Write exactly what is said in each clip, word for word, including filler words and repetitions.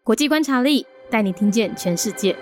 国际观察力带你听见全世界。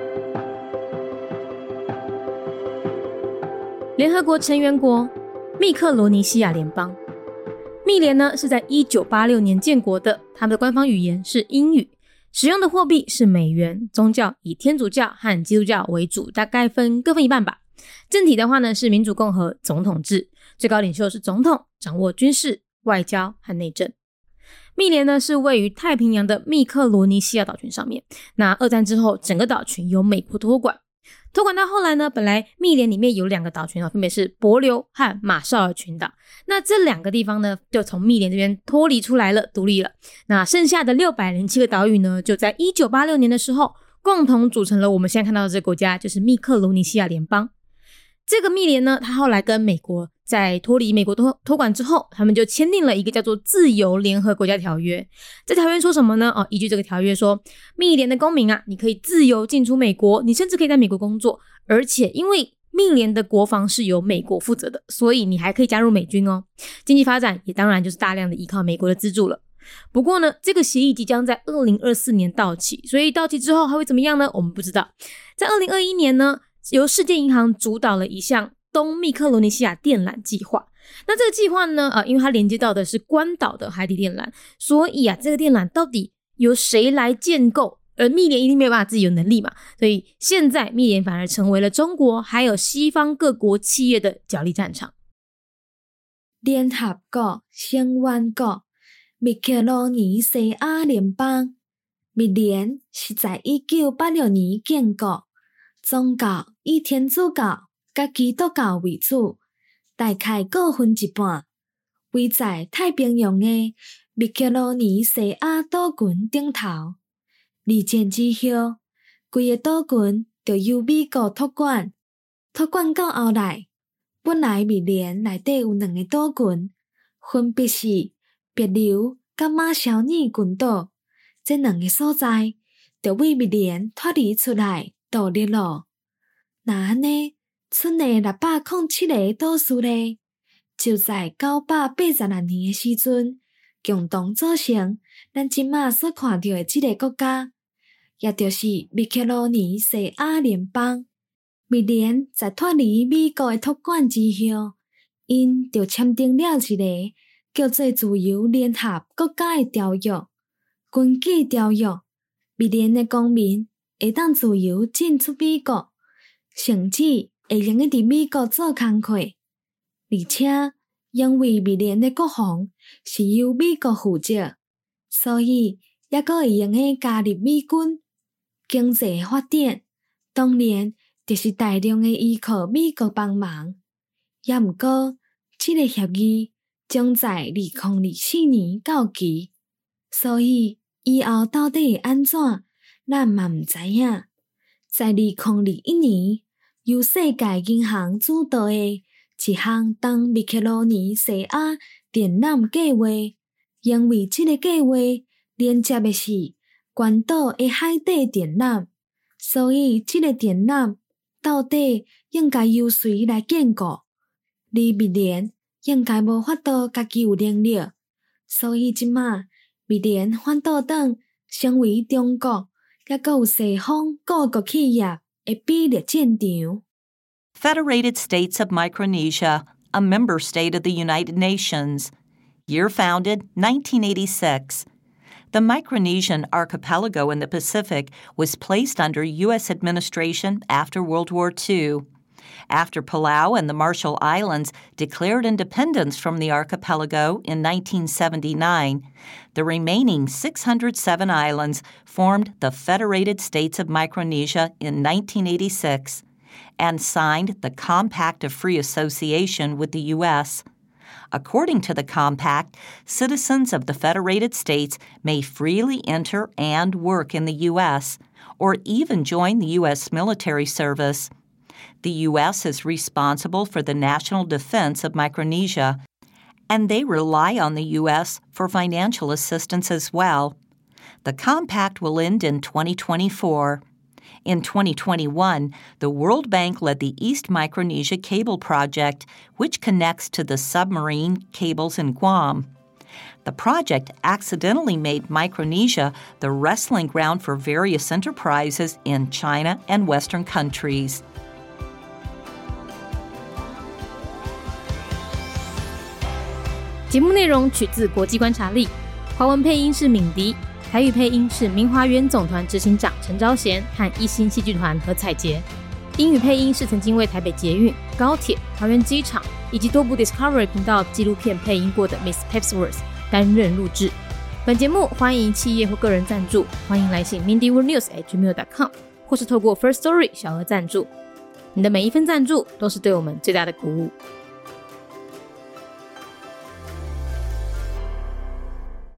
联合国成员国密克罗尼西亚联邦，密联呢是在一九八六年建国的，他们的官方语言是英语，使用的货币是美元，宗教以天主教和基督教为主，大概分各分一半吧。政体的话呢是民主共和总统制，最高领袖是总统，掌握军事、外交和内政。密联呢是位于太平洋的密克罗尼西亚岛群上面，那二战之后整个岛群由美国托管，托管到后来呢，本来密联里面有两个岛群，分别是帛琉和马绍尔群岛，那这两个地方呢就从密联这边脱离出来了，独立了。那剩下的六百零七个岛屿呢，就在一九八六年的时候共同组成了我们现在看到的这个国家，就是密克罗尼西亚联邦。这个密联呢，它后来跟美国在脱离美国托托管之后，他们就签订了一个叫做自由联合国家条约。这条约说什么呢？哦，依据这个条约说，密联的公民啊，你可以自由进出美国，你甚至可以在美国工作，而且因为密联的国防是由美国负责的，所以你还可以加入美军哦。经济发展也当然就是大量的依靠美国的资助了。不过呢，这个协议即将在二零二四年到期，所以到期之后还会怎么样呢？我们不知道。在二零二一年呢，由世界银行主导了一项东密克罗尼西亚电缆计划。那这个计划呢，呃，因为它连接到的是关岛的海底电缆，所以啊，这个电缆到底由谁来建构？而密联一定没有办法自己有能力嘛，所以现在密联反而成为了中国还有西方各国企业的角力战场。 联合国成员国密克罗尼西亚联邦，密联是在一九八六年建国，宗教以天主教甲基督教为主，大概各分一半，位在太平洋的密克罗尼西亚岛群顶头。二战之后，规个岛群就由美国托管，托管到后来，本来密联内底有两个岛群，分别是帛琉甲马绍尔群岛，这两个所在就为密联脱离出来独立了。那安尼，剩的六百零七个岛屿咧，就在九百八十六年的时阵，共同组成咱即马所看到的这个国家，也就是密克罗尼西亚联邦。密联在脱离美国的托管之后，因就签订了一个叫做自由联合国家的条约。根据条约，密联的公民会当自由进出美国，甚至会用伫美国做工课，而且因为密联的国防是由美国负责，所以也阁会用诶加入美军。经济发展当然就是大量诶依靠美国帮忙，也毋过这个协议将在二零二四年到期，所以以后到底会安怎，咱嘛毋知影。在二零二一年，由世界银行主导诶一项东密克罗尼西亚电缆计划，因为这个计划连接的是关岛的海底电缆，所以这个电缆到底应该由谁来建构？而密联应该无法度家己有能力，所以即马密联反倒转成为中国也阁有西方各国企业的比例战场。 Federated States of Micronesia, a member state of the United Nations. Year founded, nineteen eighty-six. The Micronesian archipelago in the Pacific was placed under U S administration after World War Two. After Palau and the Marshall Islands declared independence from the archipelago in nineteen seventy-nine, the remaining six hundred seven islands formed the Federated States of Micronesia in nineteen eighty-six and signed the Compact of Free Association with the U S. According to the compact, citizens of the Federated States may freely enter and work in the U S, or even join the U S military service. The U S is responsible for the national defense of Micronesia, and they rely on the U S for financial assistance as well. The compact will end in twenty twenty-four. In twenty twenty-one, the World Bank led the East Micronesia Cable Project, which connects to the submarine cables in Guam. The project accidentally made Micronesia the wrestling ground for various enterprises in China and Western countries. 节目内容取自国际观察力，华文配音是敏迪，台语配音是明华园总团执行长陈昭贤和一星戏剧团何彩杰，英语配音是曾经为台北捷运、高铁、桃园机场以及多部 Discovery 频道纪录片配音过的 Miss Pepsworth 担任录制。本节目欢迎企业或个人赞助，欢迎来信 mindy world news at gmail dot com 或是透过 First Story 小额赞助。你的每一份赞助都是对我们最大的鼓舞。